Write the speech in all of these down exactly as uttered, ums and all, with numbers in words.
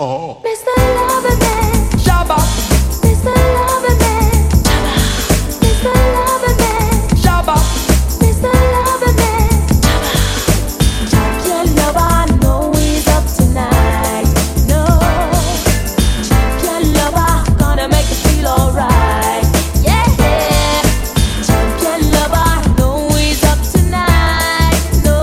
Oh. Mister Loverman, Shabba. Mister Loverman, Mister Loverman, Shabba. Mister Loverman, Champion lover, I know he's up tonight. No, Champion lover, gonna make you feel alright. Yeah, Champion lover, I know he's up tonight. No,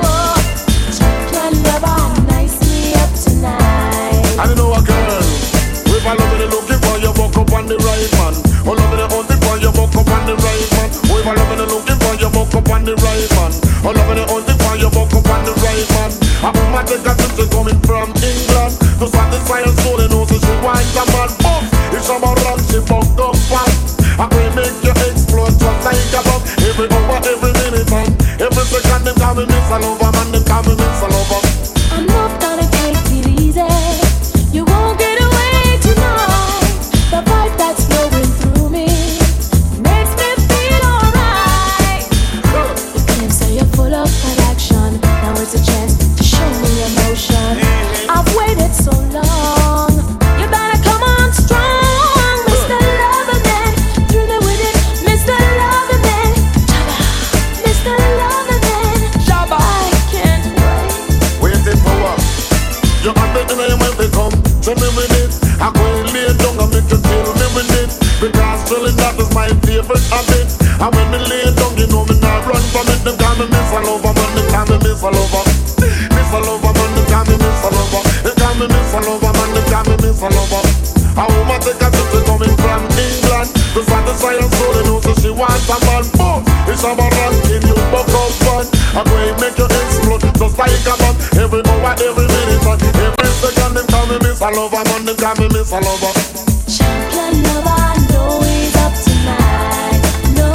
Champion lover, nicely up tonight. I don't know a girl. If I love it, looking for you, walk up on the right man. Oh, love it, only for you, walk up on the right man. Oh, if I love it, looking for you, walk up on the right man. Oh, love it, only for you, walk up on the right man. I put my take a sister coming from England to satisfy her soul and also she wants a man. Oh, it's a run, she bucked up fast. I will make you explode just like a bomb. Every hour, every minute, and every second, they call me Miss Lover, man, they call me Miss Lover. I'm not gonna take it easy. You won't get away tonight. The vibe that's flowing through me makes me feel alright. You claim say you're full of attraction. Now it's a chance to show me emotion. I've waited so long. You better come on strong, Mister Loverman. Through me with it, Mister Loverman. Mister Loverman, Shabba. I can't wait. Waiting for what? You have the name when they come to me with it. I go and lay down and make you kill me with it. Because drilling that is my favorite habit. And when me lay down, you know me not run from it. Them call me Miss Lover, man, they call me Miss Lover. Miss Lover, man, they call me Miss Lover. They call me Miss Lover, man, they call me Miss Lover. A woman take a sister coming from England to satisfy her soul and also she wants a man. Boom, it's a man in you buck up fun. I go and make you explode just like a bomb. Every hour, every minute, and every second, them call me Miss Lover, man, they call me Miss Lover. Champion lover, I know he's up tonight. No,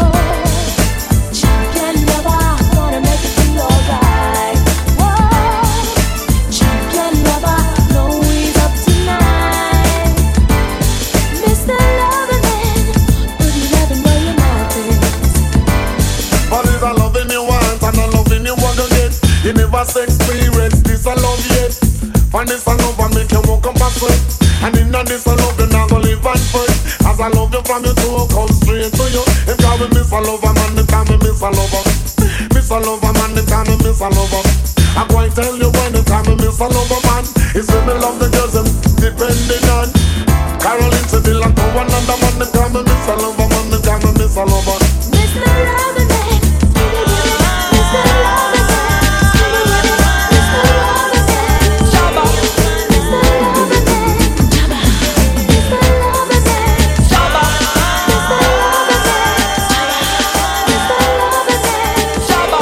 champion lover, gonna make you feel alright. Whoa, champion lover, know he's up tonight. Mister Loverman, put your loving where your mouth is. But it's a loving you want and a loving you want to get. You never experience this a love yet. Find this a love and make you walk up a sweat. And in that this a love you not gonna live and fight. As I love you from you to come straight to you. If call me Miss Lover, man, they call me Miss Lover. Miss Lover, man, they call me Miss Lover. I'm going to tell you when they call me Miss Lover, man. It's when me love the girls them depending on Caroline Seville and to one another, man, they call me Miss Lover, man, they call me Miss Lover. Mister Loverman, Mister Loverman, Mister Loverman, Shabba. Mister Loverman, Mister Loverman, Shabba. Mister Loverman, Shabba.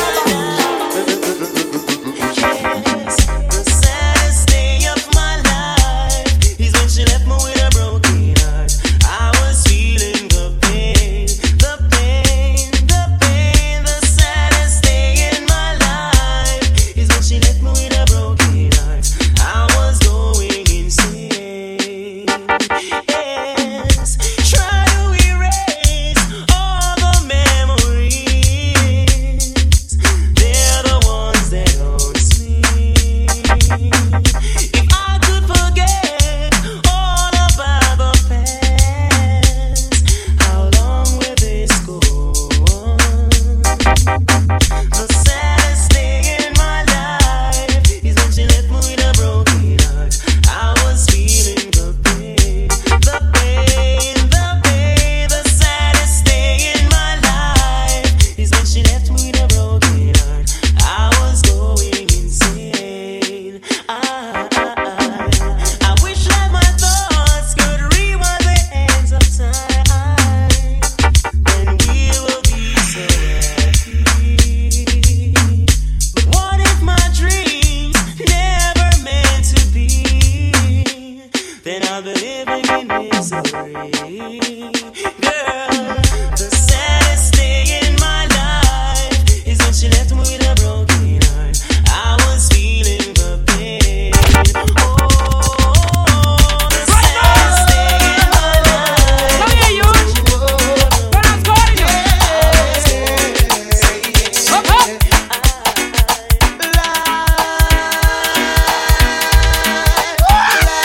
The saddest day of my life is when she left me with a broken heart. I was feeling the pain, the pain, the pain. The saddest day in my life is when she left me with a broken heart. I was going insane. Yes, try to erase all the memories. They're the ones that haunts me. If I could forget all about the past, how long will this go on? The saddest thing in my life is when she left me with a broken heart. I was feeling the pain, the pain, the pain. The saddest thing in my life is when she left me with a broken heart. I was going insane. I, I, I wish that my thoughts could rewind the hands of time. Then we will be so happy. But what if my dreams never meant to be? Then I'll be living in misery. Girl, the saddest thing in my life is when she left me with a broken heart. I was feeling the pain. Oh, the saddest thing in my life. Come here, you. When I'm calling you. Up, up. Life,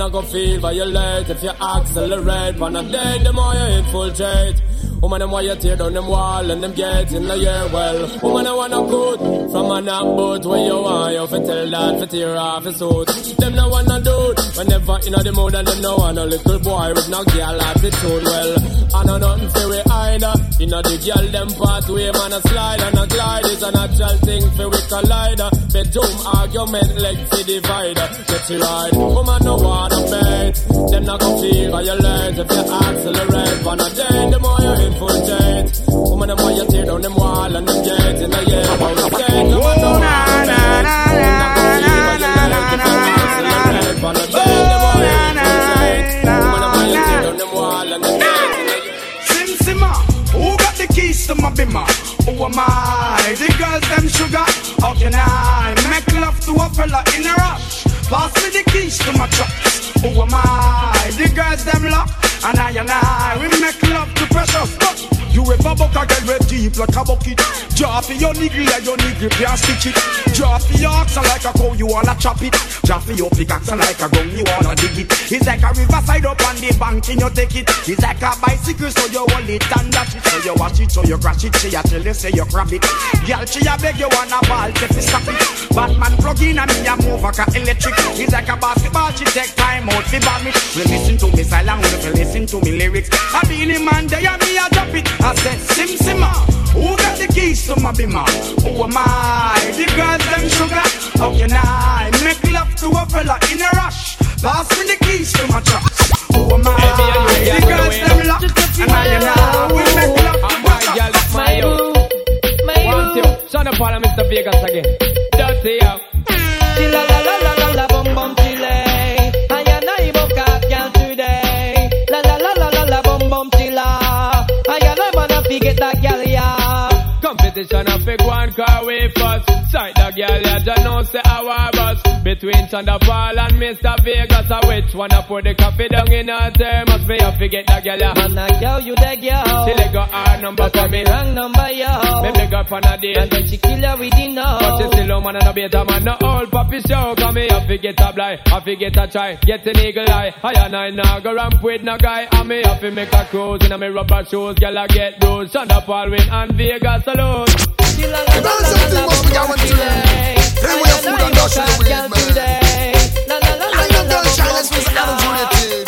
not gonna feel violate if you accelerate. On a day, the more you infiltrate. Woman, them why you tear down them wall and them get in the air. Well, woman, I wanna good from a knock boat where you want you fi tell that fi tear off his suit. Them no wanna do it whenever in the mood, and them no want a little boy with no girl attitude. Well, I know nothing fi we either. You know the girl them pathway, man a slide and a glide is a natural thing fi we collide. Bedroom argument like fi divide. Get you right, woman no wanna bait. Them not gonna feel violate if you accelerate. On a day, the more you infiltrate. Woman, them why you tear down them wall and them gates in the air. How you say, come on, no, na, na, na, na, na, na, na, on a day, the more you infiltrate. Woman, them why you tear down them wall and them gates in the air. Sim Simma, who got the keys to my bimmer? Who am I? The girls them sugar. How can I make love to a fella in a rush? Pass me the keys to my trucks. Who am I? The girls them lock. And I and I, we make love to precious. You ever buck a girl with deep like a bucket? Drop your nigga like your nigga can't stitch it. Drop your oxen like a cow, you wanna chop it. Drop your pickaxe like a gun, you wanna dig it. It's like a riverside up on the bank and you take it. It's like a bicycle, so you hold it and dash it. So you wash it, so you crash it. She a tell you, say you grab it. Girl, she a beg you wanna ball, take it, stop it. Batman plug in and me a move like a electric. It's like a basketball, she take time out, she bomb it. We listen to me silent, we listen to me lyrics. I be in man, they and me a drop it. I said, Sim Simma, who got the keys to my bimmer? Who am I? The girls them sugar. How can I make love to a fella in a rush? Pass me the keys to my trucks. Who am I? The girls them lock. And I and I will make love to my trucks. My boo, my boo. Son of Paul, Mister Vegas again. Dirty up. La la la la la la bum bum chile. I and I book up girl today. La la la la la la bum bum chilla. I and I wanna forget that girl yeah. Competition of big one car way first. Sight the girl ya just know say our bus. Between Chanda Paul and Mister Vegas, a which one I put the coffee down in her thermos. Me I forget the girl ya. Man I girl you the girl. She let go her number for me. Wrong number yo. Me beg up on a date. And then she kill her with the no. But she still a man and a better man. No old puppy show. Come me I forget a blind. I forget a try. Get an eagle eye. I and I now go ramp with no guy. And me have to make a cruise in a me rubber shoes. Girl I get those. Chanda Paul win and Vegas alone. The girls something must be guaranteed. They wear food and dash in the weed, man. I love girl challenge was unrelated.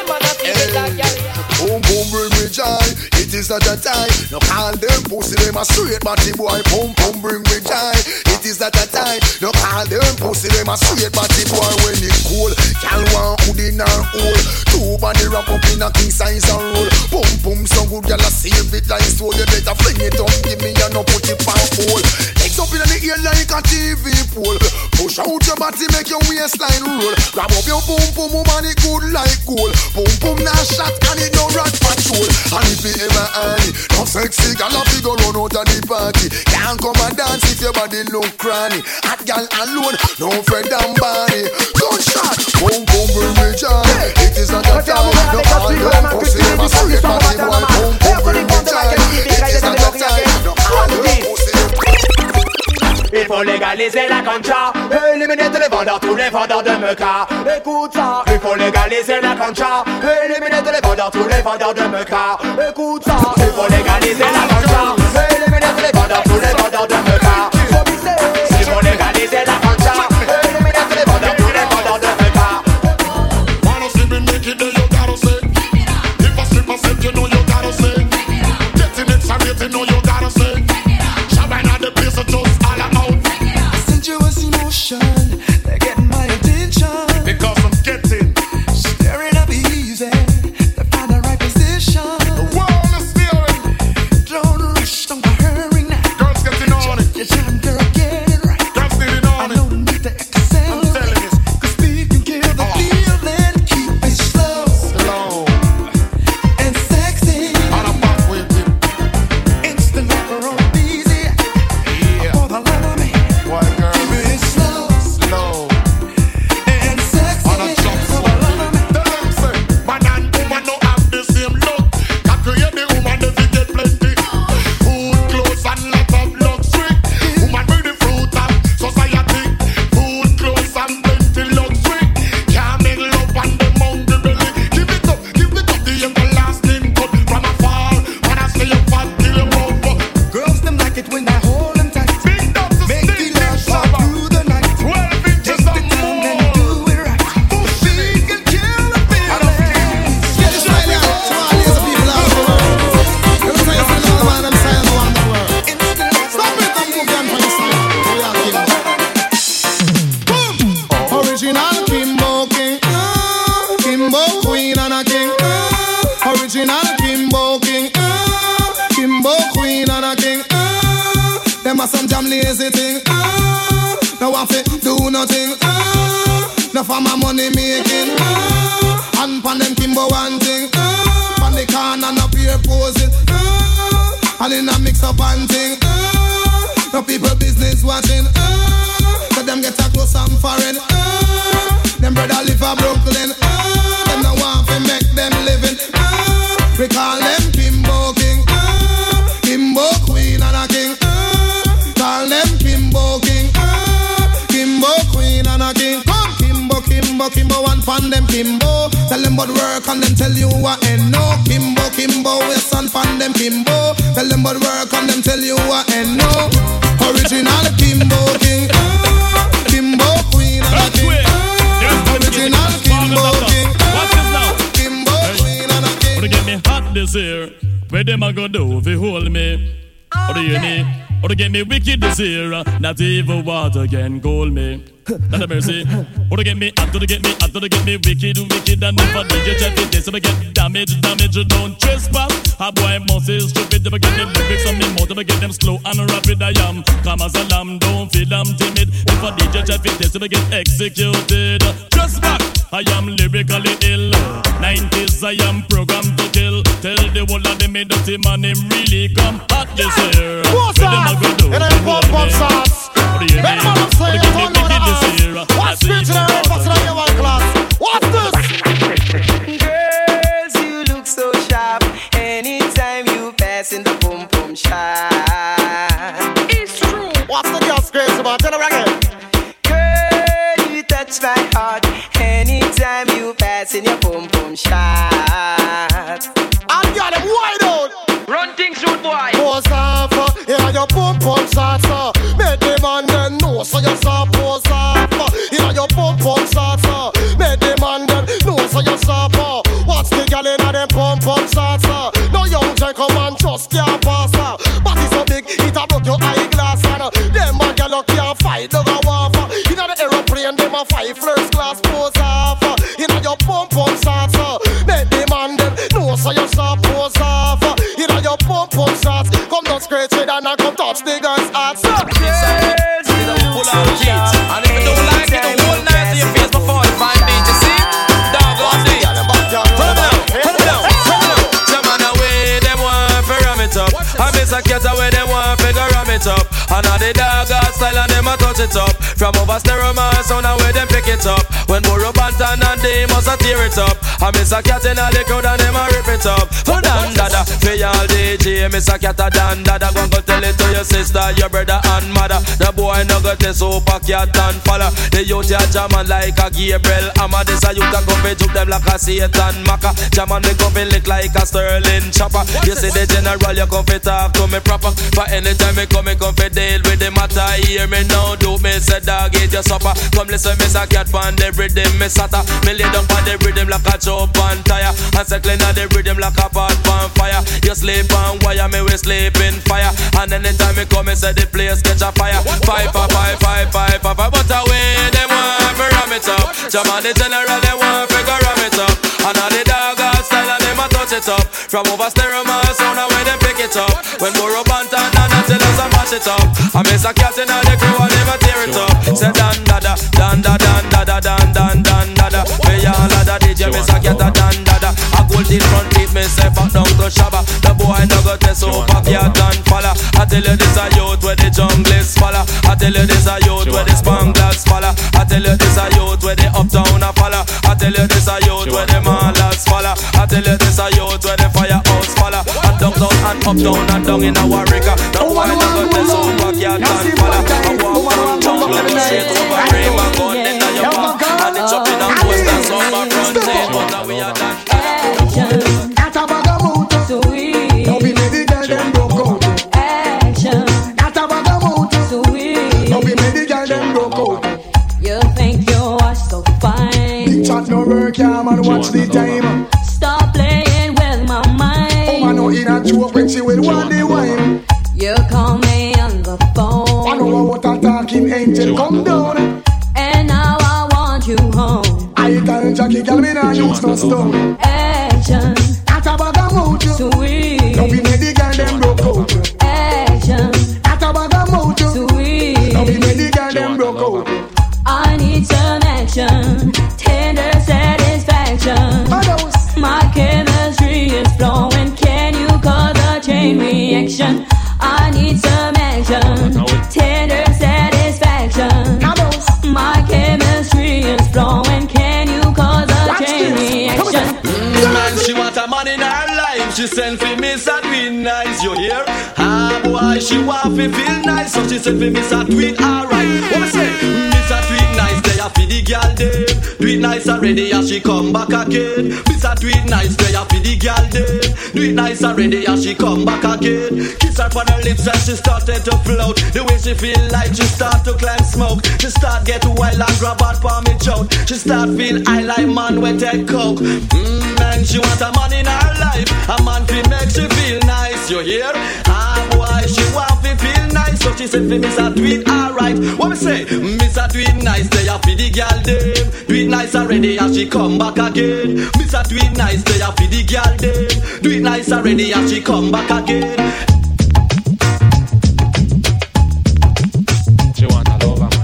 Boom boom bring me joy. It is not a time. No call them pussy them a straight body boy. Boom boom bring me joy. It is not a time. No call them pussy them a straight body boy. When it cool, can one hood in her hole. Two body wrap up in a king size and roll. Boom boom so good girl a save it like so. You better fling it up, give me and no put it on hole. Legs up in the air like a T V pole. Push out your body, make your waistline roll. Grab up your boom boom, woman it good like gold. Boom boom now shot and it no rat patrol. And if you ever eye, no sexy girl a figure run out of the party. Can't come and dance if your body look cranny. Hot girl alone, no friend and body. Gunshot, boom boom bring me joy. It is not a time, no all them pussy them a straight body boy. Boom boom bring me joy. It is not a time, no all them pussy. Il faut légaliser la concha, éliminer tous les vendeurs, tous les vendeurs de meca. Écoute ça. Il faut légaliser la concha, éliminer tous les vendeurs, tous les vendeurs de meca. Écoute ça. Il faut légaliser la concha, éliminer tous les vendeurs, tous les vendeurs de meca. Il faut légaliser la concha, éliminer tous les vendeurs, tous les vendeurs de meca. Wanna see me make it, then you gotta say. If I slip, I slip, you know you gotta say. Getting it, sorry, you know you gotta say. Shabba not the place, so just all out. Sensuous emotion, they're getting my attention. Because I'm getting Staring up easy, they find the right position. the world is steering. Don't rush, don't a king. Uh, them a some jam lazy thing. Uh, no one fit do nothing. Uh, no for my money making. Uh, and pan them Kimbo one thing. Uh, pan the corner no peer posing. Uh, and in a mix up and thing. Uh, no people business watching. Uh, so them get a close and foreign. Uh, them brother live a Brooklyn. Uh, them no want to make them living. Uh, we call them Kimbo King. Uh, Kimbo Queen and a King. Uh, call them Kimbo King. Uh, Kimbo Queen and a King. Come Kimbo, Kimbo, Kimbo and fan them Kimbo. Tell them about work and them tell you what and no. Kimbo, Kimbo, yes and fan them Kimbo. Tell them about work and them tell you what and no. Original Kimbo King. Uh, Kimbo Queen and a King. Uh, original Kimbo King. Watch this now. Kimbo Queen and a King. Wanna get me hot this year? Where them a go do if you hold me? Or do you need? Or to get me wicked this year? Not even water can cool me. Not a mercy. Or to get me hot, to get me hot, to get me wicked, wicked, and if I D J check it, this to get damage, damage, don't trespass. A boy must is stupid, to get the lyrics on me more, to get them slow and rapid. I am calm as a lamb, don't feel I'm timid. If I D J check it, this to get executed. Just back, I am lyrically ill. Nineties, I am programmed to kill. Tell the whole of them dirty man, him really come hot this year. What's that? And I'm pop pop sauce. Let me say it on the house. What's spiritual and what's in your one class? What's this? Girls, you look so sharp. Anytime you pass in the boom boom shop. It's true. What's the girl's crazy about? Tell her again. Girl, you touch my heart. Anytime you pass in your boom boom shop. I got him wide out. Run things, rude boy. Pose off, uh, yeah, your pump pump shots, uh. Make the man then know, so you saw pose off, uh. Yeah, your pump pump shots, uh. Make the man then know, so you saw, uh. Watch the girl in a them pump pump shots, uh. No young gentleman just can't pass, uh. Body so big, it a broke your eyeglass, and uh. Them a girl you can't fight, dog a waff, uh. In a the aeroplane, them a fight first class, pose off, uh. In a your pump pump shots, uh. Make the man then know, so you saw pose off, uh. In a your pump pump shots, come down scratch it and I come touch the girl's heart. Girls, you look so sharp. And if you don't like it, the whole night to your face before you find me, you see? Dog on the turn them down, turn them down, turn them down. Some man away, them want to ram it up. I miss a cat away, them want to ram it up. And all the dog got style and them a touch it up. From over stereo man, sound away, them pick it up. When Burro Bantan and they must a tear it up. I miss a cat in all the crowd and them a rip it up. Oh, dan dada, for y'all D J, miss a cat a dan dada. Go go tell it to your sister, your brother and mother. The boy no got this super cat and follow. The youth ya jamming like a Gabriel Amma. This a youth a go fi juke them like a Satan Maka. Jamming me go fi lick like a Sterling chopper. You see the general, you come fi talk to me proper. For anytime me come, me come fi deal with the matter. Hear me now, do me say dog eat your supper. Come listen, miss a cat pan the rhythm, me sata. Me lay down pan the rhythm like a chop on tire. And circling on the rhythm like a pot on fire. You sleep on wire, me we sleep in fire. And anytime me come, me say the place catch a fire. Five, five, five, five, five, five, five. But away, them want to ram it up. Jam on the general, they want to go ram it up. And all the dog out style, and them a touch it up. From over stereo, man, sound away, them pick it up. When Burro Bantan and until us a mash it up. I miss a cat in all the crew, and them a tear it up. Say dan dada, dan da dan dada, dan dan dan dada. For y'all of the D J, miss a cat a dan dada. A gold in front teeth, me say back down to Shabba. The boy no go test over cat and falla. I tell you this a youth where the jungle is falla. I tell you this a youth where the spanglers falla. I tell you this a youth where the uptown a falla. I tell you this a youth where the malas falla. I tell you this a youth where the firehouse falla. And downtown and uptown and down in a Warwick. The boy no go test over cat and falla. I walk from jungle and straight over Rayma gun in your back. And it's up in a post and some my front end. But now we are done. That's a bagamoot, sweet. Don't be made the girl them broke out. Action. That's a bagamoot, sweet. Don't be made the girl them broke out. You think you are so fine. Big chat no work, yeah man, watch the time. Stop playing with my mind. Oh man, no in a joke when she will want the wine. You call me on the phone. I know what a talking angel come down. And now I want you home. I tell Jackie, girl, me nah use no stone. Action. That's a bagamoot, sweet. Don't be made the girl them broke out. Action. attraction, tender satisfaction. My chemistry is flowing. Can you cause a chain reaction? Mm, man, she want a man in her life. She send for me, so tweet nice. You hear? Ah, boy, she want to feel nice, so she send for me, so tweet alright. What me say? Miss a tweet nice, they a for the girl dem. Do it nice already, and she come back again. Miss a tweet nice, they a for the girl dem. Do it nice already, and she come back again. Kiss her on her lips, and she started to float. The way she feel like she start to climb smoke. She start get wild and grab out for me choke. She start feel I like man when take coke. Mmm, man, she want a man in her life. A man fi make she feel nice, you hear? Ah, boy, she want fi feel nice, so she said fi Miss a do it alright. What me say? Miss a do it nice, they a fi the girl dem. Do it nice already, and she come back again. Miss a do it nice, they a fi the girl dem. Do it nice already, and she come back again. She want a lover, man.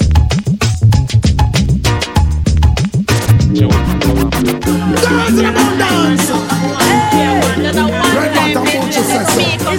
She want a lover, man. Girls in the moon dance. Hey, red bottom bunch of sex.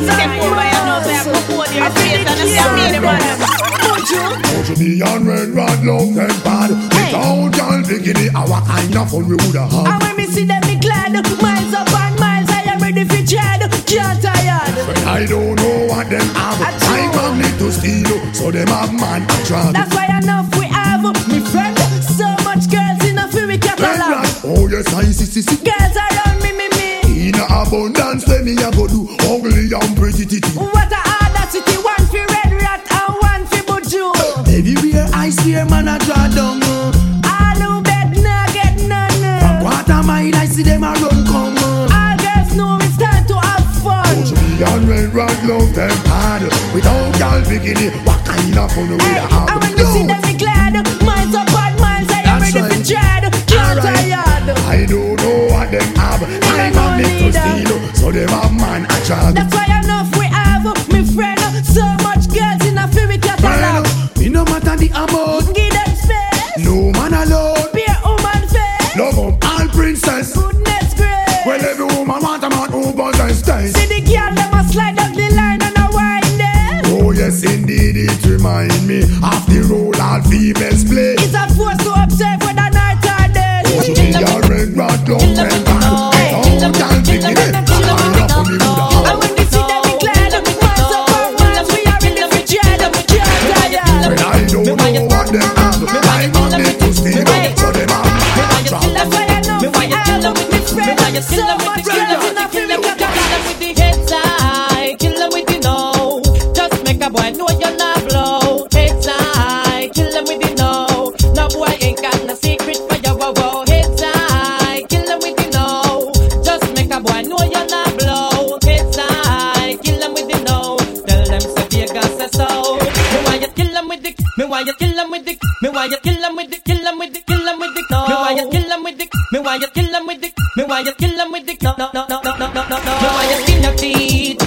Mojo me and red rod love them bad. Without y'all bikini, our kind of fun we woulda had. And when me see them, me glad. Miles up and miles, I am ready for tread. Can't tired. But I don't know what them have. I come need to steal, so them have man attract. That's why enough we have, me friend. So much girls in a fury catalog. Oh yes, I see, see, see. Girls around me, me, me. In abundance, let me a go do ugly and pretty titty. What a audacity, one for red rat and one for buju. Everywhere I swear, man, I draw down. All who bed nah get none. From quarter mile, I see them a run come. All girls know it's time to have fun. Push me and red rod love them hard. Without y'all bikini, what kind of fun we hey, have? And when you see them, me glad. Miles up and miles, I am ready for tread. Can't tired. I don't know what them have. I am need to steal, so them have man attract. That's why enough we have, me friend. So much girls in a fury catalog. Me no matter the amount. Give them space. No man alone. Be a woman face. Love them all princess. Goodness grace. Well, every woman want a man who buzz and stays. See the girl them a slide up the line and a wind them. Oh yes, indeed it remind me of the role all females play. It's a force to observe whether night or day. Oh, she be a red rat long time back. Oh, can't pick it up. I'm up on the wood. And when we see them, we glad. Miles up and miles, we are in the dread. Can't tired. When I don't know what them have, I am need to steal, so them have man attract. That's why I know we have, me friend. So much girls in a fury catalog. With the heads high, kill them with the no. Just make a boy know you're not blow. Heads high, kill them with the no. No boy ain't got no secret for your wow wow. Heads high, kill them with the no. Just make a boy know you're not blow. Heads high, kill them with the no. Tell them say Vegas say so. Me why you kill them with the, me why you kill them with the, me why you kill them with the, kill them with the, kill them with the no. Me why you kill them with the, me why you kill them with the, me why you kill them with the no no no no no no no no no. Me why you skin your teeth.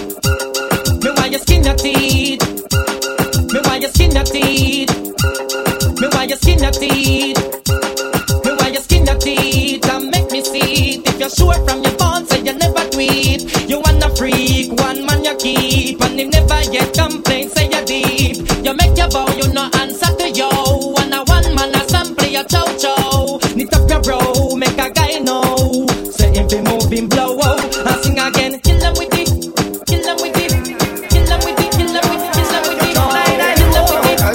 Me why you skin your teeth. Me why you skin your teeth. Me why you skin your teeth. Me why you skin your teeth and make me see it. If you're sure from your phone, say you never tweet. You wanna freak, one man you keep, and him never get complaints, say you deep. You make your bow, you no answer to yo. And a one man a sample your chow chow. Knit up your bro, make a guy know. Say him be moving blow out, and sing again. Kill them with it, kill them with it, kill them with it, kill them with it, kill them with it. Kill them with it, kill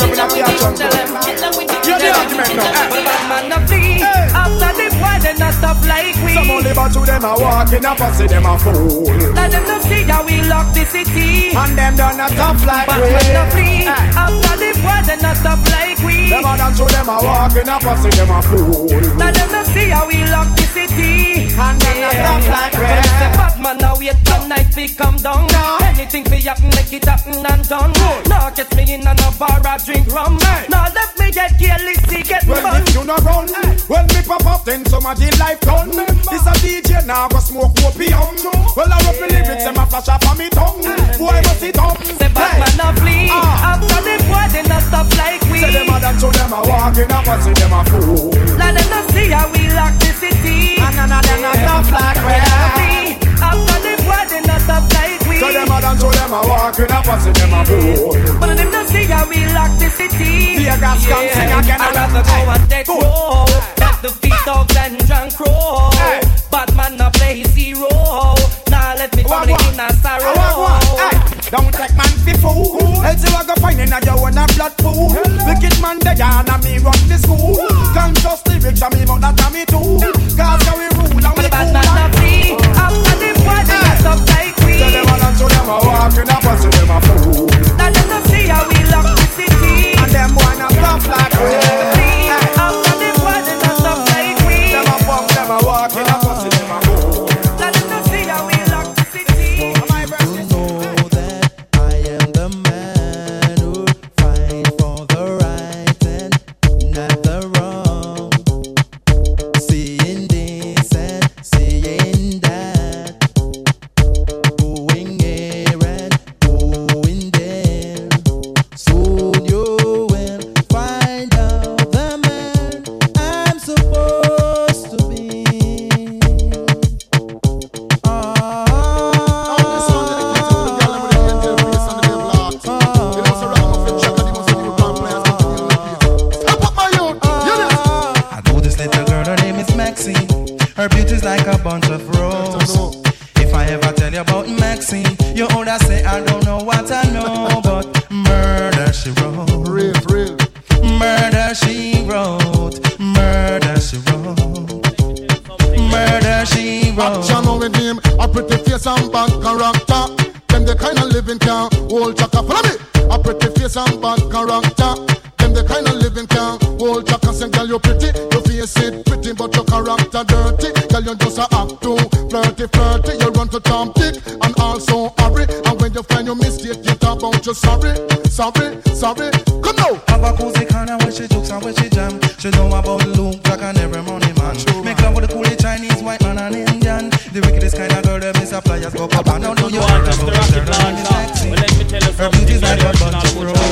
them with it. You're the argument now. But bad man no flee. After the boy, they not stop like we. Some only but to them a walk in a pussy, them a fool. Let them no see how we lock the city. And them done a tough like Bad we. man no flee. After the boy, they not stop like we. Them a done to them a walk in a pussy, them a fool. Let them no see how we lock the city. And them a tough like we. Bad man now wait till night we come down. Anything fi happen, make it happen and done. Now get me in and a bar a drink rum. Now let me get careless, see get When fun. if you no run, when me pop up, then somebody life done. This a D J now go smoke opium. Well I rub the lyrics and my flash up on me tongue. Boy must it up. Say bad man no flee. After the boy they not stop like we. Say them a done to them a walk in a pussy, them a fool. Let them not see how we lock the city. And none of them a tough like we. After the boy they not stop like we. So them a dance, so them a walk in a pussy, them a fool. But them not see how we lock the city. Tear gas can sing again. I'd rather go and take roll. Let the feet of and drunk crow. Batman a play zero. Now let me family in a sorrow. Don't take man fi fool. Else you a go find in a your own a blood pool. Wicked man dead and a me run the school. Can't just lyrics a me but that a me too. Cause how we rule and we cool. Batman a free. After them boys they got up like we. So them a dance, so them a walk in a pussy, them a fool. Now them not see how we lock the city. And them boy a bluff like we. After them boys they got up like we. Them a bump, them a walk in a pussy, them a fool. Now them not see how we lock the city. Her beauty's like a bunch of roses. If I ever tell you about Maxine, you older say I don't know what I know, but murder she wrote. Real, real. Murder she wrote. Murder she wrote. Murder she wrote. Action with him, a pretty face and bad character. Them the kind of living can hold chaka. Follow me. A pretty face and bad character. Them the kind of living can hold chaka. Say girl you pretty, your face it pretty, but your character dirty. Girl you just a act too flirty, flirty. You run to Tom Dick and also hurry. And when you find your mistake, you talk about you sorry, sorry, sorry. Come now. Have a cozy corner where she jokes and where she jam. She know about Luke, Jack and every money man. Make love with the coolie Chinese, white man and Indian. The wickedest kind of girl them is a flyers go up and down. Know you want about the third and the sexy. Her beauty's like a bunch of roses.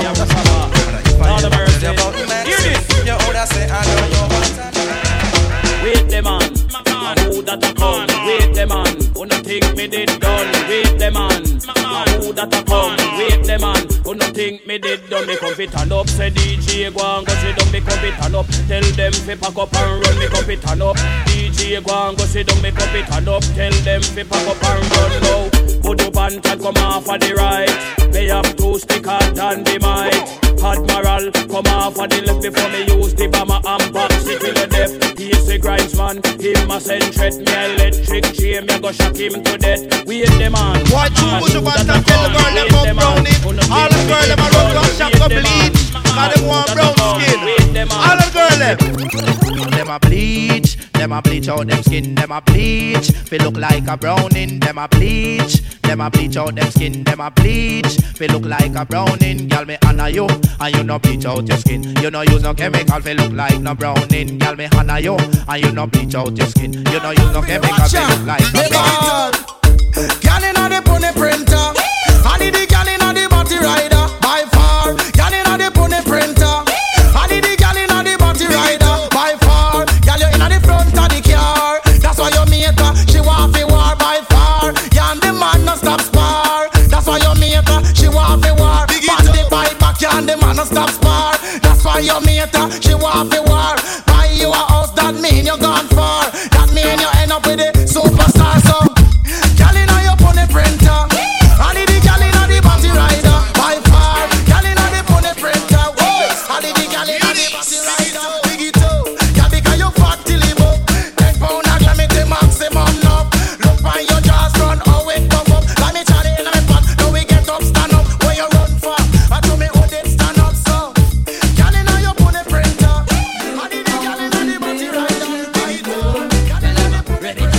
All the mercy. Hear this. Your older say I don't know what I know. Wait the man, who that a come? Wait the man, who no think me did done? Wait the man, who that a come? Wait the man, who no think me did done? Me come fit and up, say D J go and go sit down. Me come fit and up, tell them fi pack up and run. Me come fit and up, D J go and go sit down. Me come fit and up, tell them fi pack up and run now. Put up and can come off of the right. They have two sticker than the mic. Admiral, come off of the left before me use the bomber and box it till the death. He's the grindsman, him a send threat. Me electric chain, me go shock him to death. Wait the man. Why two push up and tell the girl them come brown it. All the girl them a run down shop go bleach. Cause them want brown skin. All the girl them. Them a bleach, them a bleach out them skin. Them a bleach, they look like a browning. Them a bleach, them a bleach out them skin. Them a bleach, they look like a browning. Girl me honor you, and you no bleach out your skin. You no use no chemical, they look like no browning. Girl me honor you, and you no bleach out your skin. You no use no chemical, they look like no browning. Girl inna the pony printer, I need the girl inna the body rider by far. Girl inna the pony printer, I need the girl inna the body rider by far. Girl you inna the front of the car, that's why you make her. She want fi war by far. Yeah, and the man no stop spar. That's why you make her. She want fi war. Pass the bike back, yeah, and the man no stop spar. That's why you make her. She want fi war. Buy you a house, that mean you gone far. That mean you end up with a superstar. So, girl inna your pony printer, I need the girl inna the body rider by far. Girl inna the pony printer, whoa. I need the girl inna the body rider. Big it up, girl because you fat till you up. Ten pound a glam it the maximum now. Look by your jaws run, how it come up. Let me try it inna me pot, now we get up, stand up. Where you run for? I told me who did stand up so. Girl inna your pony printer, I need the girl inna the body rider by far. Girl inna the pony printer.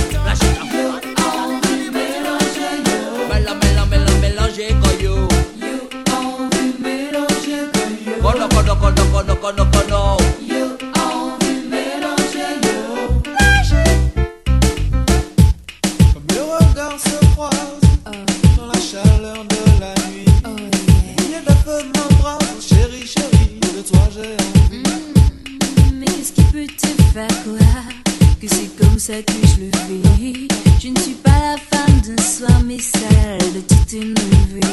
Mélange, mélange, mélange, mélanger coyo. Cono, cono, cono, cono, cono, cono. Comme le regard se croise dans la chaleur de la nuit. Il y a de la feu de m'embrasse, chérie, chérie, de toi j'ai envie. Mais qu'est-ce qui peut te faire quoi? que c'est comme ça que je le fais. Je ne suis pas la femme d'un soir, mais celle de toute une levée.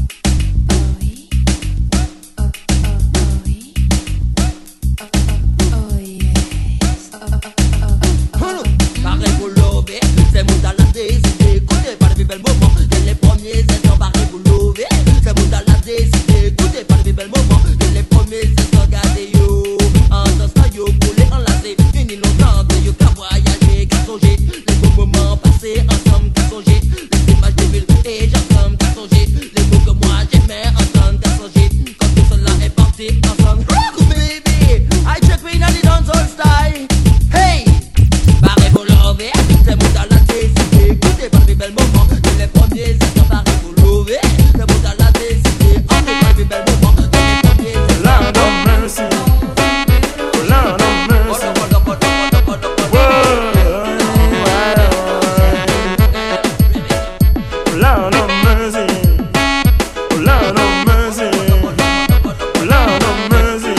Pareil pour l'over, c'est mon dans la décidé. Écoutez par les belles moments, dès les premiers instants. Pareil pour l'over, c'est mon dans la décidé. Écoutez par les belles moments, dès les premiers instants. Gardez yo, en dansant yo, pour les enlacer. Fini longtemps, de yo qu'à voyager, qu'à songer. Les beaux moments passés ensemble, qu'à songer. Les images des villes et j'ensemble, qu'à songer. Les mots que moi j'aimais entendre, qu'à songer. Quand tout cela est parti ensemble. Oh baby, I check me dans les dancehall style. Hey! Pareil pour l'over, c'est mon dans la décidé. Écoutez par les belles moments, dès les premiers instants. Pareil pour l'over, c'est mon dans la décidé. On est par les belles moments, dès les premiers instants. Lord of mercy, Lord of mercy. Lord of mercy, Lord of mercy, Lord of mercy.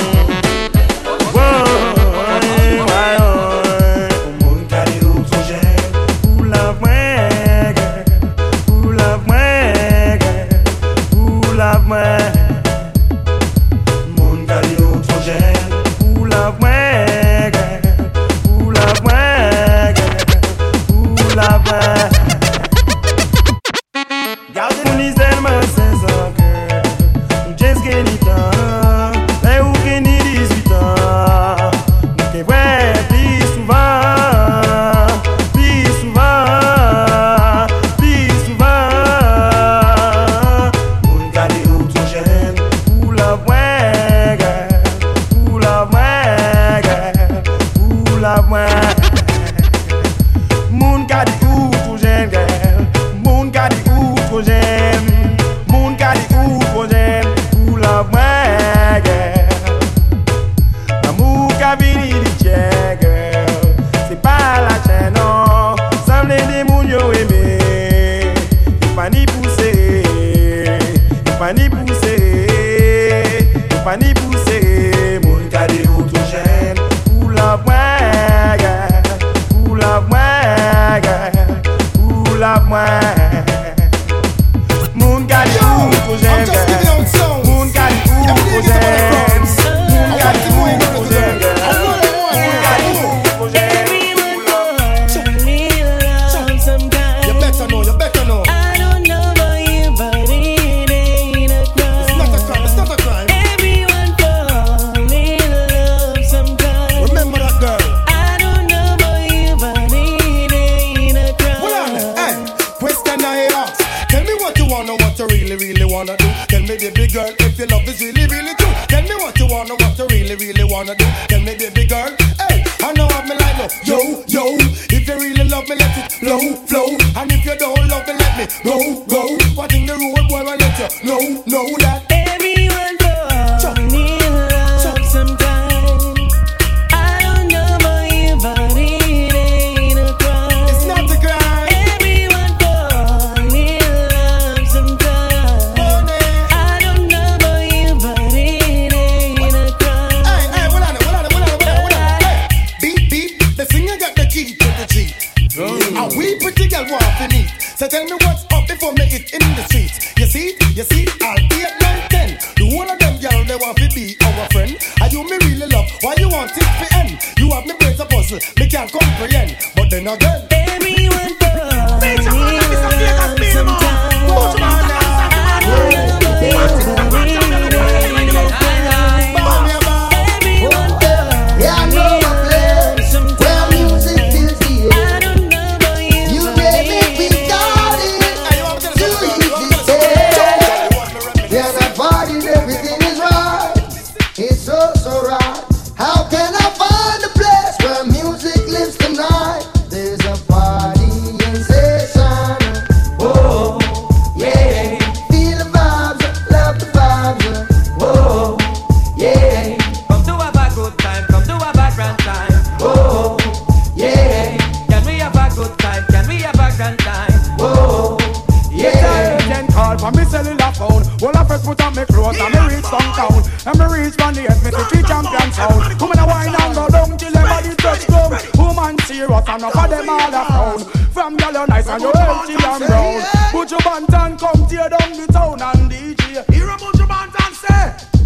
put on me clothes and me reach downtown. And me reach from the F fifty-three champion sound. Woman a wine and go down till them body touch ground. Woman serious and up of them all a frown. From girl you nice and you healthy and brown. Put your band and come tear down the town and D J. Hear about your band and say,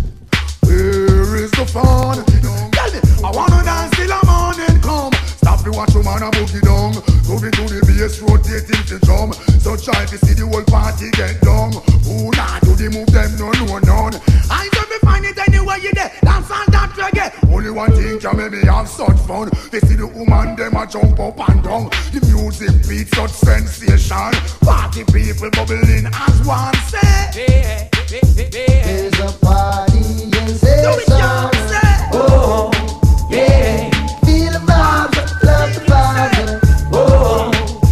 where is the fun? Tell me, I wanna dance till the morning come. Stop to watch your man a boogie down. Moving to the bass, rotating the drum. So try to see the whole party get down. Who not do the move them no no none. I don't be find it anywhere you there. Dance and dance reggae. Only one thing can make me have such fun. They see the woman them a jump up and down. The music beat such sensation. Party people bubbling as one say. There's a party in session. Oh, yeah. Feel the vibes, love the vibe. Oh,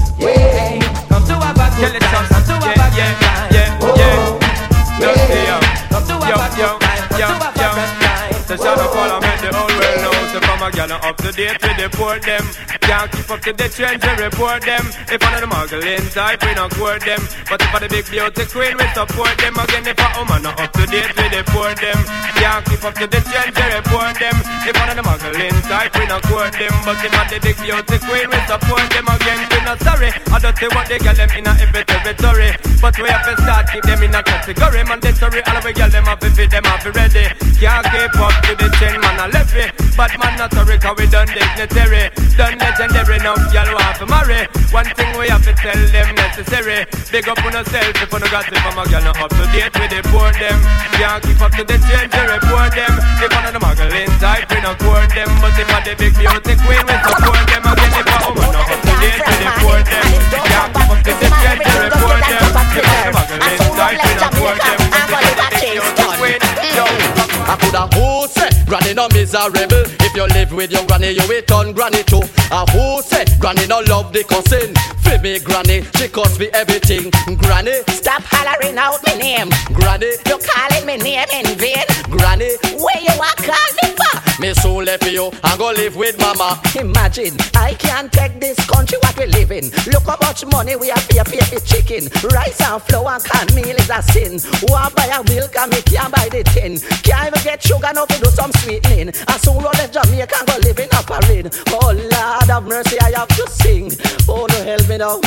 yeah. Come to a bad girl, come to a bad girl. Yeah, yeah, yeah. Come to a bad girl, come to a bad girl. So shut up all I make the whole world know. So from a gal up to date we deport them. Can't keep up to the trends we report them. If one of the muggling type we not court them. But if I the big beauty queen we support them. Again if a woman not up to date we deport them. Can't keep up to the trends we report them. If one of the muggling type we not court them. But if I the big beauty queen we support them. Again we not sorry. I don't see what they get them in a every territory. But we have to start keep them in a category. Mandatory all of we get them up if them up ready. Can't keep up to the chain man a left it. But man not sorry cause we done dignitary. Done legendary enough y'all want to marry. One thing we have to tell them necessary. Big up on yourself if you no got it from a girl not up to date we deport them. Can't keep up to the change we report them. If one of the muggling type we not court them. But if one the big beauty queen we support them. Again if a woman not up to date we deport them. Can't keep up to the change we report them. If one the muggling type we not court them. If one the big beauty queen yo. I coulda who say granny no miserable. If you live with your granny, you will turn granny too. A who say granny no love the cousin. For me granny, she cost me everything. Granny, stop hollering out my name. Granny, you calling me name in vain. Granny, where you are calling me for? Me soon left you and go live with mama. Imagine, I can't take this country what we live in. Look how much money we have to pay for chicken. Rice and flour and canned meal is a sin. Want buy a milk and me can't buy the tin. Can't even get sugar now to do some sweetening. And soon roll the Jamaica and go live in a parade. Oh Lord have mercy, I have to sing. Oh no, help me now.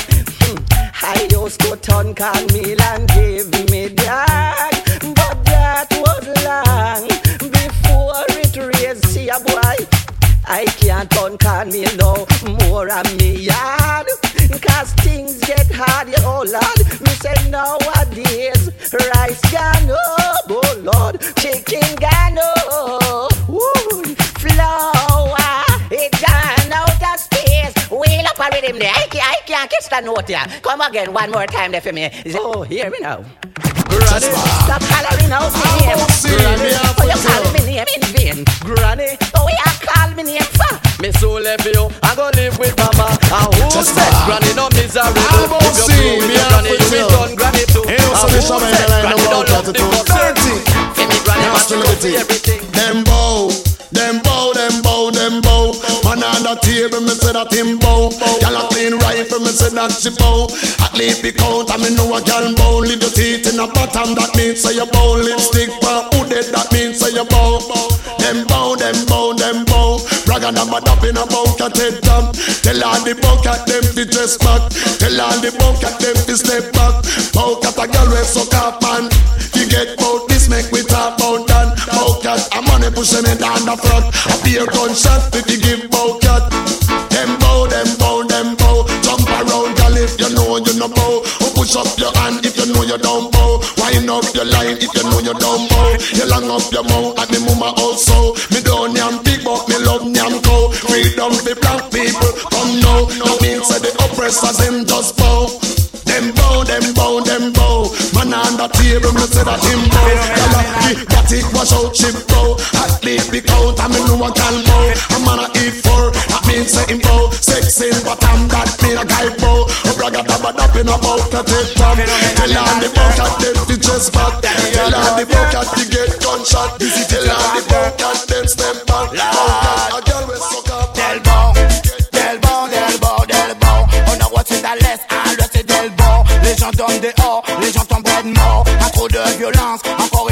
I used to turn canned meal and give me that, but that was long before it raised. See a boy, I can't turn canned meal no more on me yard. Cause things get hard, yeah, oh Lord. Me say nowadays, rice gone up, oh Lord. Chicken gone up, woo. Flour, it gone out of space. Wheel up a rhythm there, I can't, I can't catch that note here. Come again one more time there for me. Oh, hear me now. Granny, stop hollering out my name. Granny, oh you call me name in vain. Granny, oh you call me name for? Me so left you and go live with mama. And who said granny no miserable? If you see with me your granny, you will turn granny too. Hey, what's and the who show, man? said granny don't love the cousin? Give me granny must love everything. Them bow, them bow, them bow, them bow. Man on the table, me say that him bow. Gyal a clean rifle, me say that she bow. At least be count, and me know a gyal bow. Leave your teeth in the bottom, that means say you bow. Lipstick for who dead, that means say you bow. Them bow, them bow, them bow. Bragga them a dap in a bucket head top. Tell all the bucket them fi dress back. Tell all the bucket them fi step back. Bucket a gyal we suck up man. You get bout this, make we talk bout that. Bucket a money push me down the front. A beer gunshot if you give bucket. Them bow, them bow, them bow. Jump around, girl, if you know you no bow. Or push up your hand if you know you don't bow. Wind up your line if you know you don't bow. You long up your mouth at the mama also. Me don't yam big but me love yam cow. Freedom for black people, come now. That means that the oppressors them just bow. Them bow, them bow, them bow. Man on the table, me say that him bow. Y'all the body wash out chip bow. At least be count, I me know I can bow. A man a eat for, that means say him bow. Sex in bottom, that mean a guy bow. A bragga dabba dap in a bow to take from. Tell on the bucket, them to chest back. Tell on the bucket, you get gunshot. Tell on the bucket, them step back. Bucket, a girl with suck up. Del bow, del bow, del bow, del bow. On a watché dans l'est, à l'ouest et del bow. Les gens tombent dehors, les gens tombent de mort. Un trop de violence, encore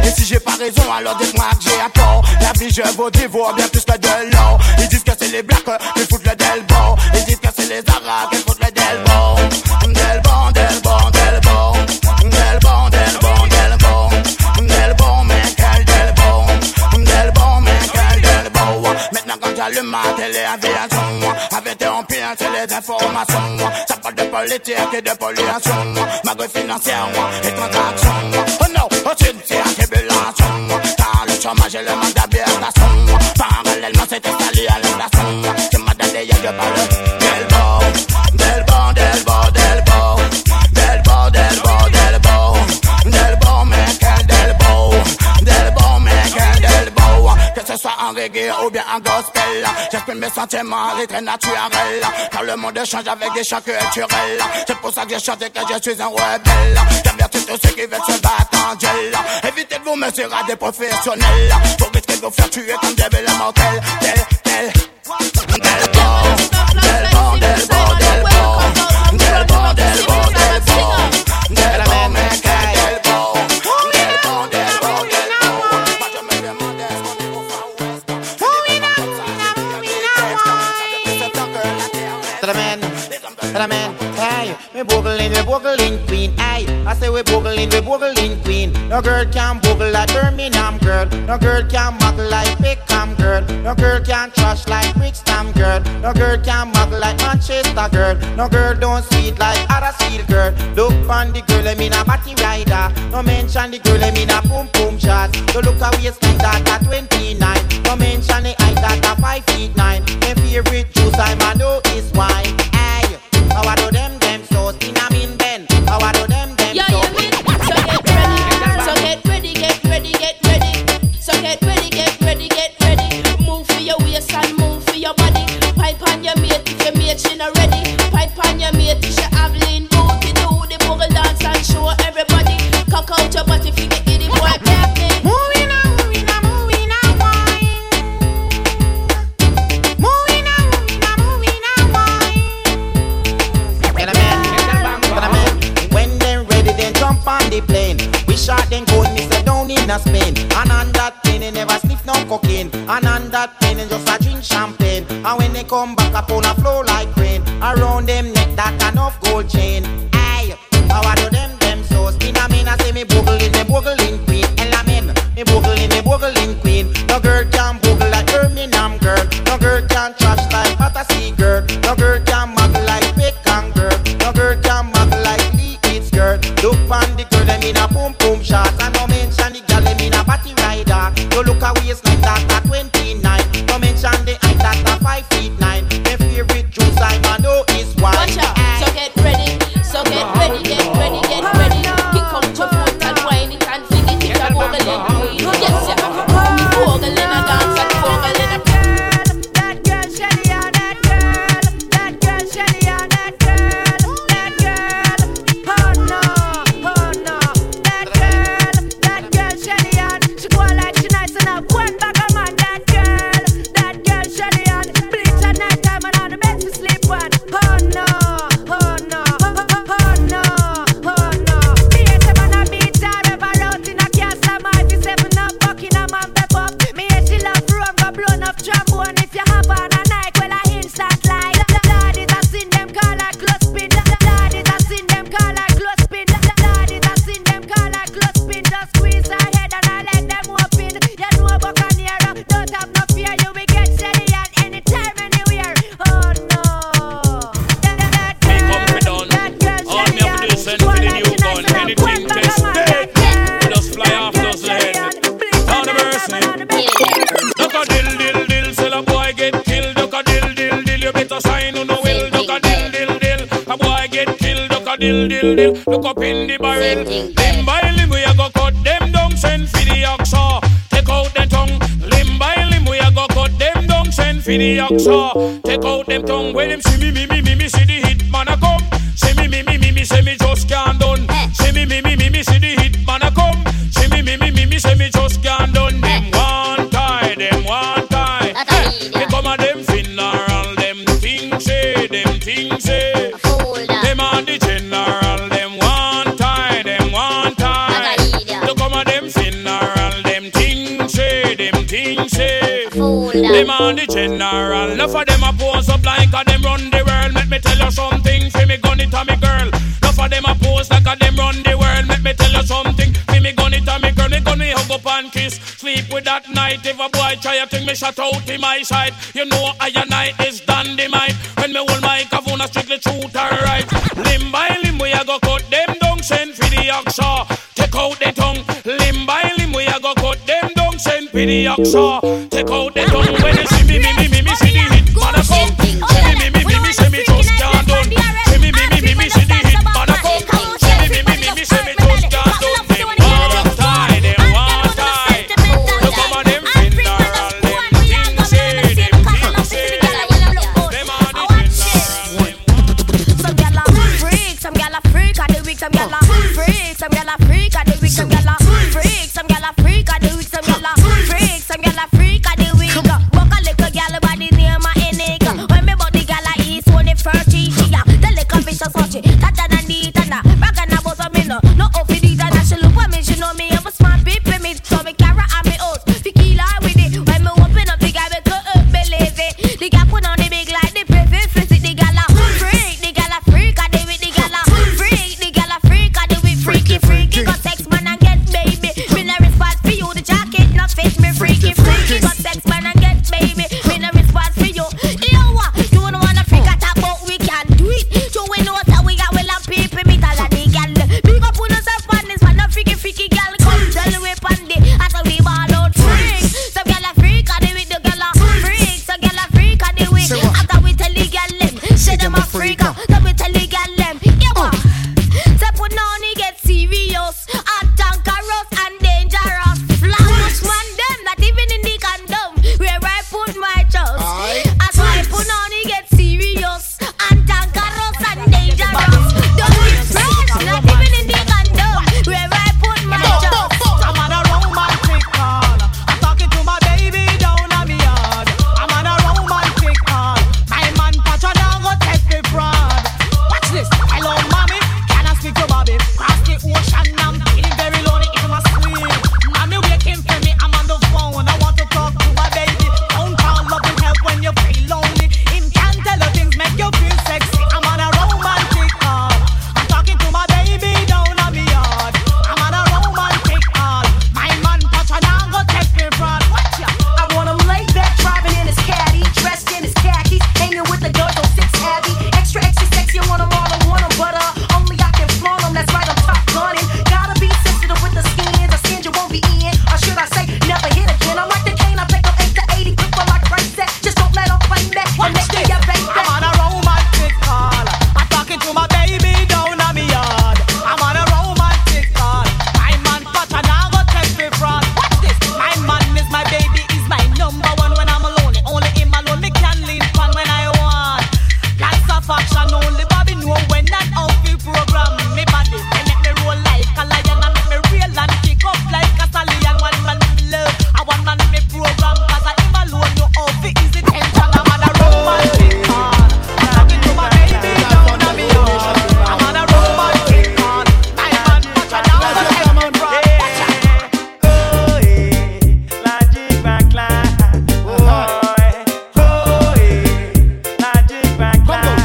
Et si j'ai pas raison, alors dites-moi que j'ai à tort. La vie, je vous dévore bien plus que de l'or. Ils disent que c'est les blacks qui foutent le delbo. Ils disent que c'est les arabes qui foutent le delbo. Delbo, delbo, delbo. Delbo, delbo, delbo. Delbo, mais quel delbo. Delbo, mais quel delbo. Maintenant quand j'allume ma télé-aviation, interrompu c'est les informations. Ça parle de politique et de pollution, magouille financière et transactions. Oh non, oh tu c'est la tribulation. Car le chômage et le manque d'habitation, parallèlement c'est installé à l'inflation. Tu m'as donné y'a de parler Delbo, Delbo, Delbo, Delbo. Delbo, Delbo, Delbo. Delbo, mais quel Delbo. Delbo, mais quel Delbo. Que ce soit en reggae ou bien en gospel, j'exprime mes sentiments, les traits naturels. Car le monde change avec des chants culturels. C'est pour ça que j'ai chanté que je suis un rebelle. J'avertis tous ceux qui veulent se battre en duel. Évitez de vous mesurer à des professionnels pour risquer de vous faire tuer comme des belles mortels. Tel, tel. Delbo, Delbo, Delbo, Delbo. Delbo, Delbo, Delbo. Delbo, mais quel Delbo. Delbo, Delbo, Delbo. Moi je me demandais ce qu'on est au Far West. To the man, to the man, hey, we boogling, we boogling queen, hey, I say we boogling, we boogling queen. No girl can boogle like Birmingham girl, no girl can muggle like Peckham girl, no girl can trash like Brixton girl, no girl can muggle like Manchester girl, no girl don't sweet like Huddersfield girl. Look on the girl, I mean a batty rider, no mention the girl, I mean a boom boom shot. So look at waistline that at twenty-nine, no mention the height that at five feet nine. My favorite juice I man know is wine. Hey, how I do them them so in a mean Ben. How I do them them Yeah, so. you mean? So get ready, so get ready, get ready, get ready. So get ready, get ready, get ready. Move for your waist and move for your body. Pipe on your mate if your mate she not ready. Pipe on your mate if she have lean booty. Do the boogie dance and show everybody. Cock out your body if you get itty boy captain. Moving on, moving on, moving on, wine. Moving on, moving on, moving on, wine. Get a man, get a man. When they're ready, then jump on the plane. We shot then go and miss down in a Spain. And on that plane, they never sniff no cocaine. And on that plane, they just a drink champagne. And when they come back up on a flow like rain, around them neck that enough gold chain. Aye, how I do them them so spin a mean I say me boogling, me boogling queen. Ella men, me boogling, me boogling queen. No girl can boogle like Birmingham girl. No girl can trash like Battersea girl. No girl can muggle like Peckham girl. No girl can muggle like Lee Eats girl. Look on the girl, them in a boom boom shot. And no mention the girl, them in a batty rider. You look a waistline that at twenty-nine. No mention the height that at five feet nine. My favorite juice I man know is wine. Watch out, so get ready, so get ready, get ready, get ready. Kick out your foot and whine it and fling it, it's a boogling queen. Yes, you have a boogling a dance and boogling a That girl, Shelly, on that girl. That girl, Shelly, on that girl. That girl, oh no, oh no. That girl, that girl, Shelly, on. She go like she nice enough. One back a man, that girl. That girl, Shelly, on. Bleach at night time and on the bed to sleep on. Oh no, oh no, oh, oh, oh no, oh no. Me hate them on a beach, I ever out in a castle. My fi seven up, Buckingham and pep up. Me hate she love rum, go blown up trombone. If you have on a night, well I instant like. Lord is a sin, them call a close spin. Lord is a sin, them call a close spin. Lord is a sin, them call a close spin. Just squeeze her head and I let them open. You know Buccaneer, don't have no fear. You will get steady at any time, anywhere. Oh no. That, that, that Me come girl, we done. that girl, All me have to do is send for the new gun. Anything test dead. We just fly off those head. Down the mercy. Duck a dill dill dill. Sell a boy get killed. Duck a dill dill dill. You better sign on the will. Duck a dill dill dill. A boy get killed. Duck a dill dill dill. Look up in the barrel. Limb by limb we a go cut them down. Send for the oxa. Take out the tongue. Limb by limb we a go cut them down. Send for the oxa. Take out them tongue. When them see me me me me me see the hit man a come. See me me me me me say me just can't done. See me me me me me see the hit man a come. See me me me me me say me just can't done. Them one tie, them one tie. They come a them funeral, them things say, them things say. Them on the general, them one tie, them one tie. They come a them funeral. on the general. Enough of them a pose up like a them run the world. Let me tell you something, fi me gun it a me girl. Enough of them a pose like a them run the world. Let me tell you something, fi me gun it a me girl. Me gun me hug up and kiss, sleep with that night. If a boy try a thing, me shut out in my side. You know I and I is dynamite. When me hold my kavuna strictly truth and right. Limb by limb we a go cut them down, send for the oxa. Take out the tongue, limb by limb we a go cut them down, send for the oxa. Take out the tongue. When you see me, me, me, me, me, see the hit, man a come. See me, me, me, me, me, see me just can't done. See me, me, me, me, me, see the hit, man a come. See me, me, me, me, me, see me just can't done. Them want tie, them want tie. Look over them funeral, them things say, them things say. Them are the funeral. Some gyal a freak, some gyal a freak of the week, some gyal a freak, some gyal a freak of the week, some gyal a freak, some gyal a freak of the week, some gyal a freak, some gyal a freak of the week. Walk a little gyal by the name of Enika. When me bought the gyal a east, when the first she she a the little bitch a such it. Tata na di tana, rock and a boss a me no, no off the tana. She look at me, she know me, I'm a smart people me, so me carry on me oats, tequila with it. When me open up the gyal, me go up believe it. The gyal put on the big like the perfect visit. The gyal a freak, the gyal a freak of the week, the gyal a freak, the gyal a freak of the week. Freaky, freaky, got sex man and get baby. Me no response for you, the jacket not fit me. Freaky, freaky, got sex man and get baby. Me no response for you. Yo, what? You don't wanna freak at about we can do it. So we know that we got well and people meet all of the gyal. Big up on us up on this one, no freaky, freaky gyal. Come tell me on the after we ball out freak. Some gyal a freak of the week, the gyal a freak. Some gyal a freak of the week. After we tell the gyal them, say them a freak. Then we tell the gyal them, yo, what? Say put on he get serious, and dangerous and dangerous. Flash man them, not even in the condom where I put my trust. As I put on he get serious, and dangerous and dangerous. Don't be fresh, not even in the condom where I put my trust. I'm on a romantic call. I'm talking to my baby down on me yard. I'm on a romantic call. My man Pacha now go take the fraud. Watch this. Hello, mommy. Can I speak to Bobby? Cross the ocean. I'm feeling very lonely. It's my sweet. Mommy waiting for me. I'm on the phone. I want to talk to my baby. Phone call, love and help when you feel lonely. Him can tell you things make you feel sexy. I'm on a romantic call. I'm talking to my baby down on me yard. I'm on a romantic call. My man Pacha now go take me fraud. Watch ya. I want him laid back, driving in his caddy, dressed in his khakis, hanging with the girls on six Abby. Extra, extra sexy, I want him all, I want him, but uh, only I can flaunt him. That's right, I'm top gunning. Gotta be sensitive with the skins, a skin you won't be in, or should I say, never hit again. I'm like the cane, I take up eight to eighty, quick for like right set. Just don't let him play back. Watch Next this. day, I bang I'm on back. a romantic call. I'm talking to my baby down on me yard. I'm on a romantic call. My man Pacha now go take me fraud. Watch this. My man is my baby, is my number one when I'm alone. Only him alone me can lean on when I want. Lots of action, only Bobby know when that outfit program. Me body, they make me roll like a lion and make me real and kick up like a stallion. One man me love, I one man me program. Cause I him alone know outfit is the tension. I'm on a romantic call. I'm talking to my baby down on me yard. I'm on a romantic call. My man Pacha now go take me fraud. Watch out. Oh, eh, Logic Backline. Oh, eh, oh, eh, Logic Backline.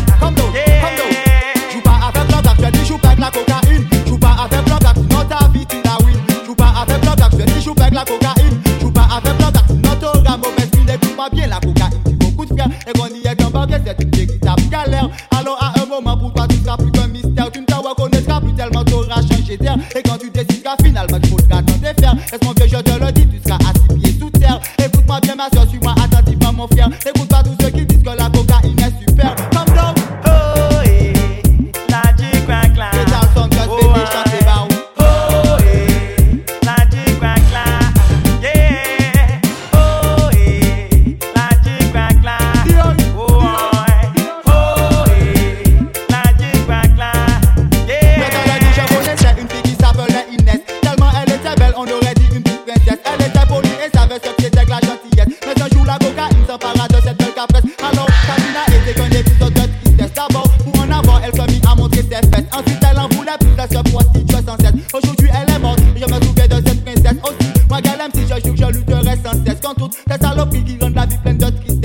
Joue pas avec l'homme je dis joue pas avec la cocaïne. Joue pas avec l'homme sinon ta vie tu la win. Joue pas avec l'homme je dis joue pas avec la cocaïne. Joue pas avec l'homme sinon t'auras mauvaise mine. Écoute-moi bien la cocaïne, c'est beaucoup de frères. Et qu'on y est qu'un banquier, c'est une véritable galère. Alors à un moment pour toi tu seras plus qu'un mystère. Tu ne te reconnaîtras plus tellement t'auras changé d'air. Et quand tu décideras finalement qu'il faudra t'en défaire. Laisse mon vieux je te le dis, tu seras à six pieds sous terre. Écoute-moi bien ma soeur, suis-moi attentivement mon frère. Écoute pas tous ceux qui disent que la cocaïne est super. Comme donc. Oh, eh, Logic Backline. C'est un son que Oh, baby chante les bains. oh, eh, Logic Backline. Yeah. Oh, eh, Logic Backline. Oh, eh, oh, eh, Logic Backline. Mais dans la vie je connaissais une fille qui s'appelait Inès. Tellement elle était belle, on aurait dit une petite princesse. Elle était polie et savait ce que c'était que la gentillesse. Mais un jour la cocaïne s'empara de cette belle capresse. Alors sa vie n'a été qu'un épisode de tristesse. D'abord pour en avoir elle se mit à montrer ses fesses. Ensuite elle en voulait plus, elle se prostituait sans cesse. Aujourd'hui elle est morte et je me souviens de cette princesse aussi. Moi qu'elle aime si je joue que je lutterai sans cesse. Contre toutes ces saloperies qui rendent la vie pleine de tristesse.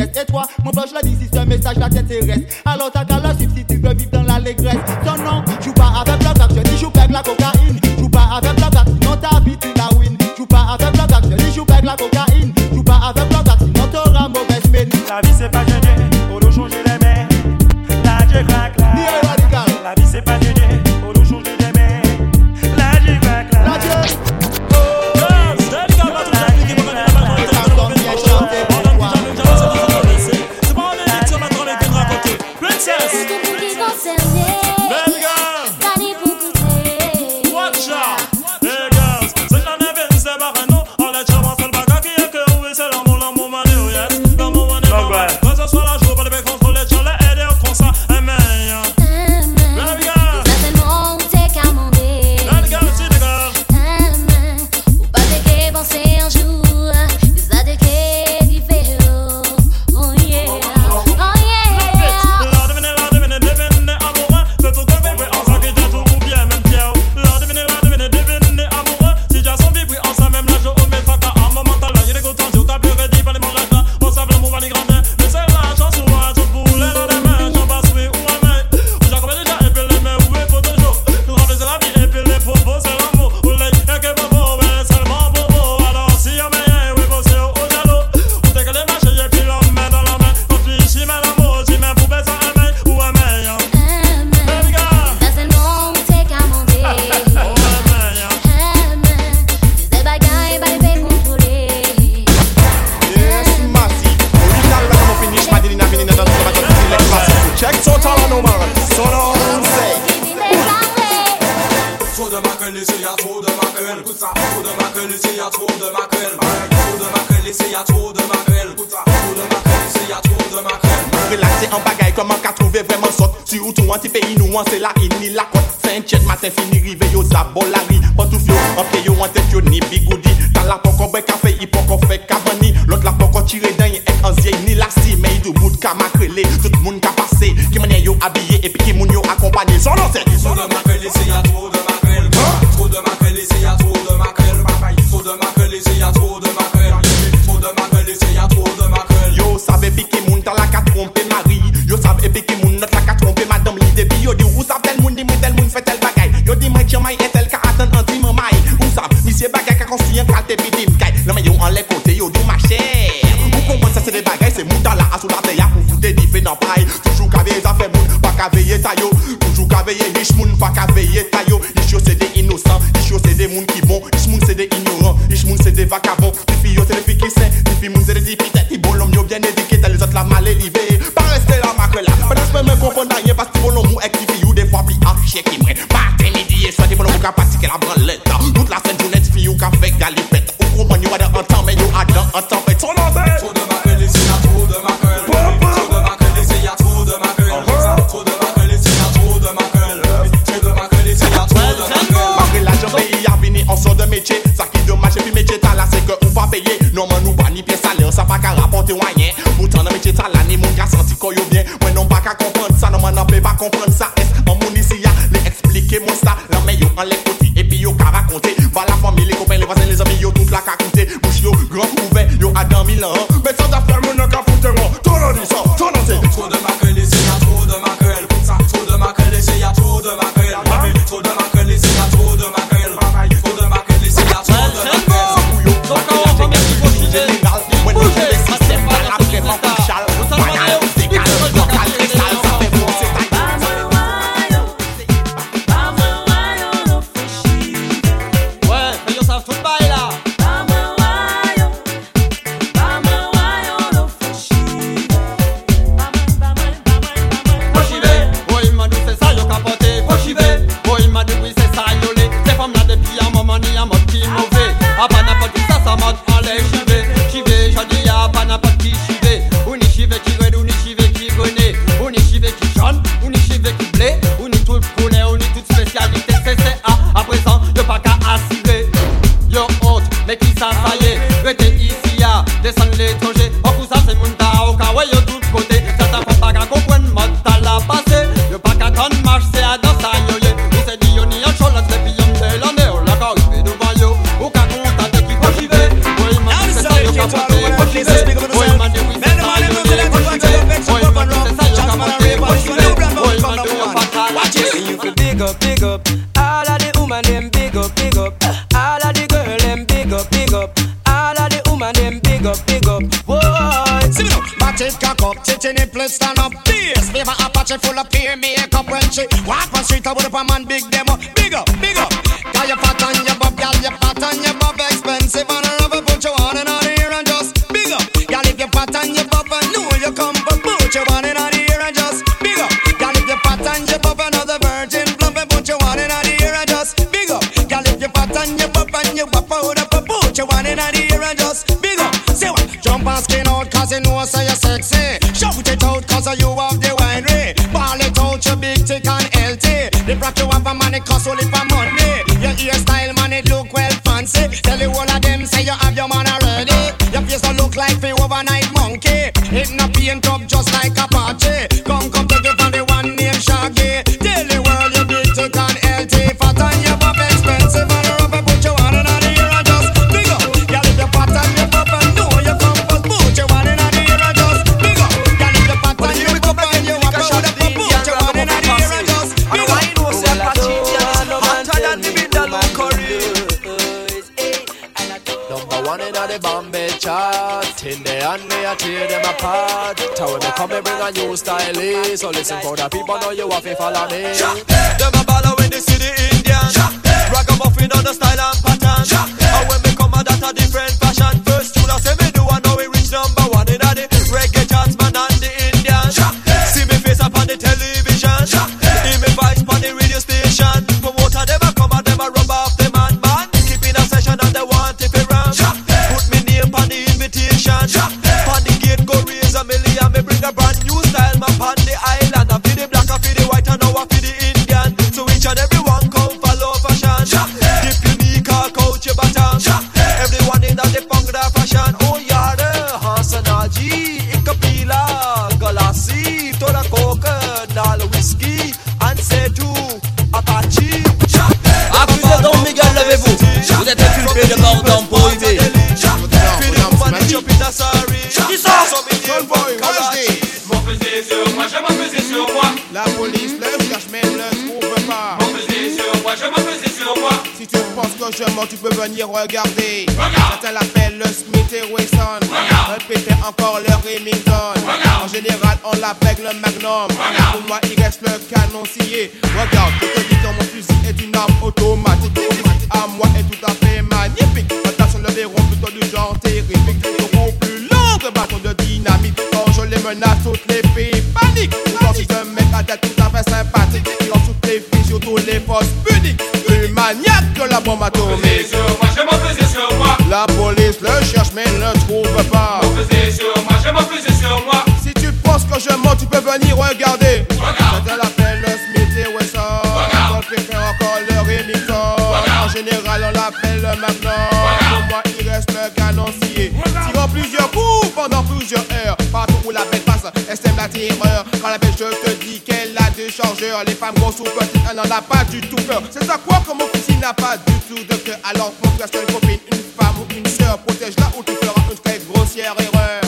Mon poche l'a dit si ce message là t'intéresse. Alors t'as qu'à la suivre si tu veux vivre dans l'allégresse. Son nom, joue pas avec le gars, je dis joue avec la cocaïne. Joue pas avec le gars, sinon ta vie tu la win. Joue pas avec le gars, je dis joue avec la cocaïne. Joue pas avec le gars, sinon t'auras mauvaise mine. La vie c'est pas gagné, faut nous changer les mains. La Dieu craque là. La vie c'est pas gagné, faut nous changer les mains. La Dieu craque là. La Dieu. C'est la ini la côte Saint-Chet matin fini rive yo zabolari Pantouf yo en pied yo en tête yo ni bigoudi Dans la poko boy café il poko fait cavani L'autre la poko tire d'un et en zier ni la si Mais il do bout ka makrele Tout moun ka passé Qui mène yo habillé et puis qui moun yo accompagné Son nom c'est Trop de makrele c'est y'a trop de makrele Trop de makrele c'est y'a trop de makrele Trop de makrele c'est y'a trop de makrele Trop de makrele c'est y'a trop de makrele Yo savez piquer moun dans la ka tromper Marie Yo savez piquer moun notre la ka tromper madame l'idée Yo di ou sav tel moun di moun tel moun fait tel bagay Yo di mwen ki may et tel ka atan anti man may Ou sav misye bagay ka konstruyen kalte pidim kay Nan men yo an le kote yo do ma chère Ou kompon sa se de bagay se moun dans la asou la teya Pou foute di fe nan pay Toujou ka veye zafè moun pa ka veye tayo Toujou ka veye riche moun pa ka veye tayo Riche yo se de innocent Riche yo se de moun ki bon Riche moun se de ignorant Riche moun se de vagabond Tifi yo se de fi ki sen Tifi moun se de tifi tête I bolom yo bien éduqué Tel les autres la mal élevé Pas rester la macre là Pas d'espèce me confondre rien Parce que bolom ou actifi ou des fois pli arché qui mourait Matin midi et soir des bolom ou ka pratiquer la branlette Toute la scène journée fi ou ka fait galipette Ou comprendre yo a dans un temps mais yo a dans un temps fait son nom c'est Trop de macre laissé y'a trop de macre Trop de macre laissé y'a trop de macre Trop de macre laissé y'a trop de macre Trop de macre laissé y'a trop de macre Macre la jambe y a vini en sort de métier Ça qui dommage et puis métier t'as là c'est que ou pas payé Non man ou pas ni pièce salaire Ça pas qu'à rapporter moyen Pourtant dans métier t'as là ni mon gars senti qu'on yo bien Moi non pas qu'à comprendre ça Non man n'en peut pas comprendre ça Est-ce en mon ici y'a les expliquer mon ça Non mais yo en les côtés et puis yo qu'à raconter Va la famille les copains les voisins les amis yo toute la qu'à compter Bouche yo grand ouvert yo à dans mille ans Mais sans affaire mon n'a qu'à foutre moi Tout le dit ça tout le c'est Trop de macre laissé y'a trop de macrel Trop de macre laissé y'a trop de macrel Trop de macre laissé y'a trop de macrel Trop de macre laissé y'a trop de macrel Donc on va mettre il faut bouger Moi nous je les systèmes pas la vraiment couchal Banal c'est calme local et sale ça fait bon c'est taille Ouais, mais yo savent tout bail là. Jesus, big up on the bikini, please stand up. Please, favor Apache full of peer makeup when she walk on street. I would up a man big demo. Big up, big up. Got your fat on your bob, gal, your fat on your bob, expensive and I love it. Put your on and on here and just big up. Gal, if your fat on your bob, I know you come, but put your on and on here and just big up. Gal, if your fat on your bob, another virgin plump, and put your on and on here and just big up. Gal, if your fat on your bob and you wap out up, put your on and on here and just big up. Say what? Jump and skin out cause you know so you're sexy. Shout it out cause you have the winery. Ball it out, you big, thick and healthy. The brat you have a man, it cost only for money. Your hairstyle, man, it look well fancy. Tell you all of them, say you have your man already. Your face don't look like the overnight monkey. It not paint up just like a party. Come, come, take it from the one named Shaggy. Tell the world you big, thick and healthy. Fat on your buff, expensive and rough. Put your one in the ear and just big up. Girl, if you're fat on your buff and know you come first, put your one in the ear and just big up. Girl, if you're fat on your buff and you walk out the put your one in the ear and just big up. I know say Apache hotter than the Vindaloo curry. Number one in the Bombay chart. In the hand me I tear them apart. Tell when me come and bring a new style. So listen for the people know you have to follow me. Them a baller when they see the Indian. Ragamuffin on the style and pattern. And when me come a that a different fashion. First tune I say me do I know we reach number one in the reggae charts man and the Indian. See me face up on the television. Hear me voice on the radio station. Promoter them a come and them a rub off the man man. Keeping a session and they want it to run. Put me name on the invitation. On the gate go raise a million. Me bring a brand new style man on the island. I feel the black, I feel the white, and now I feel the Indian. So each and everyone come follow fashion. Dip unique or couch your baton. Everyone in that the punk that fashion. Oh yeah, the Hansanaji, Ikapila, Galassi, Tora Coke, Nal Whiskey, and Setu, Apache. Accusé Don Miguel, levez-vous. Vous êtes inculpé de mort d'homme prohibé. La police le cherche mais ne le trouve pas. Mon pesé sur moi, je m'en pesé sur moi. Si tu penses que je mens, tu peux venir regarder. Regarde. Ça l'appelle le Smith et Wesson. Répétez encore le Remington. Regarde. En général, on l'appelle le Magnum. Regarde. Pour moi, il reste le canon scié. Regarde, je te dis que mon fusil est une arme automatique. À moi est tout à fait magnifique. Attention, le verrou plutôt du genre terrifique. Beaucoup plus long que bâton de dynamite. Quand je les menace, toutes les filles paniquent. Quand si je mets à tête tout à fait sympathique. Quand toutes les filles, surtout les fausses pudiques. Plus maniaque que la bombe atomique. Sur moi, je m'en pesé sur moi. La police le cherche mais ne le trouve pas. Mon pesé sur moi, je m'en pesé sur moi. Si tu penses que je mens, tu peux venir regarder. Regarde. Ça l'appelle le Smith et Wesson. On préfère encore le Remington. En général, on l'appelle le Magnum. Pour moi, il reste le canon scié. Tirant plusieurs coups pendant plusieurs heures. Partout où la bête passe, elle sème la terreur. Quand la bête, je te dis qu'elle a des chargeurs. Les femmes grosses ou petites, elle n'en a pas du tout peur. C'est à quoi que mon fusil n'a pas du tout de cœur. Alors, mon frère, c'est une copine, une femme ou une sœur. Protège-la ou tu feras une très grossière erreur.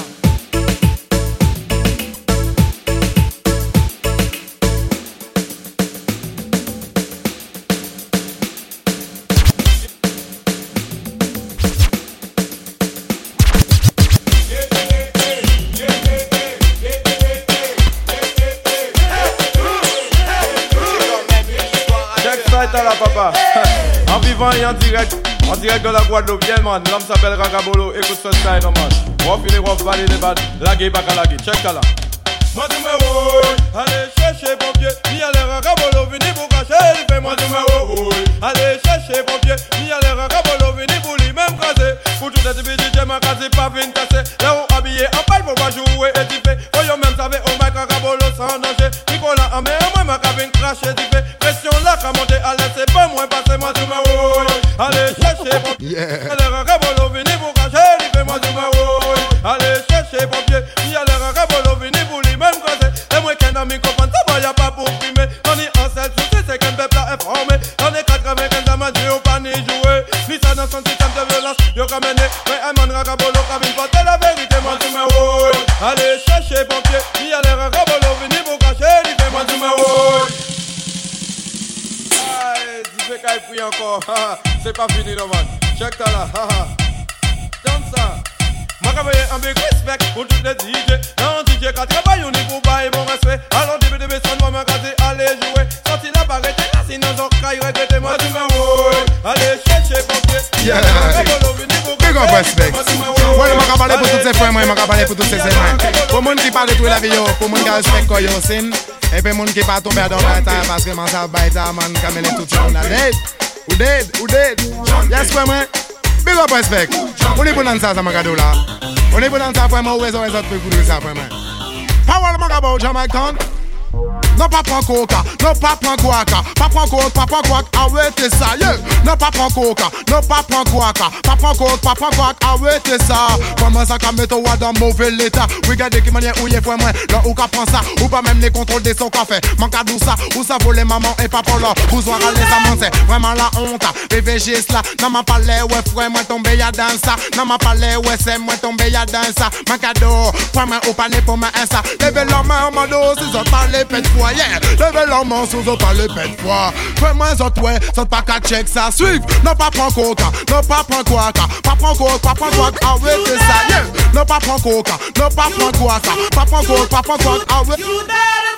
Là, papa. En vivant et en direct, en direct de la Guadeloupe, yeah man, l'homme s'appelle Ragabolo, écoute ce style, non man. Rough il est rough, valé les bad, lagué, baka lagué, check ça là. Moi tu me oui, allez chercher pompier, ni aller Ragabolo, vini pour cacher, il fait moi tu me oui. Allez chercher pompier, ni aller Ragabolo, vini pour lui même craser. Pour tout être bidji, j'ai ma case, pas vine casser. Là où habillé en paille, faut pas jouer et t'y oh yo même savez, oh my Ragabolo sans danger. Nicolas en mer, moi ma cabine crache et t'y pression là, qu'à monter à l'aise, c'est pas moins passé, moi tu me oui. Allez chercher pompier, allez Ragabolo, vini pour cacher, il fait moi tu me oui. Allez chercher pompier, ni aller Ragabolo, vini pour lui même craser. Et moi qu'un ami comprend ça, moi y'a pas pour primer. On y en selle souci, c'est qu'un peuple a informé. On est quatre-vingt-quinze à ma Dieu, pas ni jouer. Ni ça dans son système de violence, yo qu'a mené. Mais un man Ragabolo, cabine, porter la vérité, moi tu me oui. Allez chercher pompier, ni aller Ragabolo, vini pour cacher, il fait moi tu me oui. Aïe, tu fais qu'à y encore, c'est pas fini non man. Check ça là, haha. Comme ça. Moi, j'ai un big respect pour tous les D J. Non, D J qui est quatre pas unique pour bailler mon respect. Alors début de baisser moi m'a gâté, allez jouer. Sorti la barrette là sinon j'en caille regretter moi tu me ouais. Allez chercher pompier. Yeah. Big up respect. Ouais, je m'en parler pour tous ces frères, moi, je m'en parler pour tous ces frères. Pour moun qui parle de tout la vie, pour moun qui respecte quoi yo sin. Et puis moun qui pas tomber dans la terre parce que man ça baïta man camélé tout le monde. Dead. Ou dead, ou dead. Yes, frère, moi. Big up respect. On est pour dans ça, ça m'a cadeau là. On est pour dans ça, frère, moi, où est-ce que vous pouvez ça, frère, moi. Power, m'a about Jamaican. Non pas prendre coca, non pas prendre guaca, pas prendre coca, pas prendre guaca, arrêtez ça, yeah. Non pas prendre coca, non pas prendre guaca, pas prendre coca, pas prendre guaca, arrêtez ça. Comment ça qu'à mettre toi dans mauvais état? Regardez qui manière où y est pour moi, là où qu'à prendre ça, ou pas même les contrôles des son café. Manque à ça, ou ça voler maman et papa là, vous aurez les amants, c'est vraiment la honte. P V G là, non m'a parlé ouais frère moi tombé ya dans ça, non m'a parlé ouais c'est moi tombé ya dans ça. Mon cadeau, pour moi au palais pour moi ça. Levez la main en mode si ça parle pète fois. Yeah, levez la main si vous parlez pète fois. Fais-moi ça toi, ça pas qu'à check ça. Suive, non pas prendre coca, non pas prendre guaca, pas prendre coca, pas prendre guaca, arrêtez ça. Yeah, non pas prendre coca, non pas prendre guaca, pas prendre coca, pas prendre guaca, arrêtez.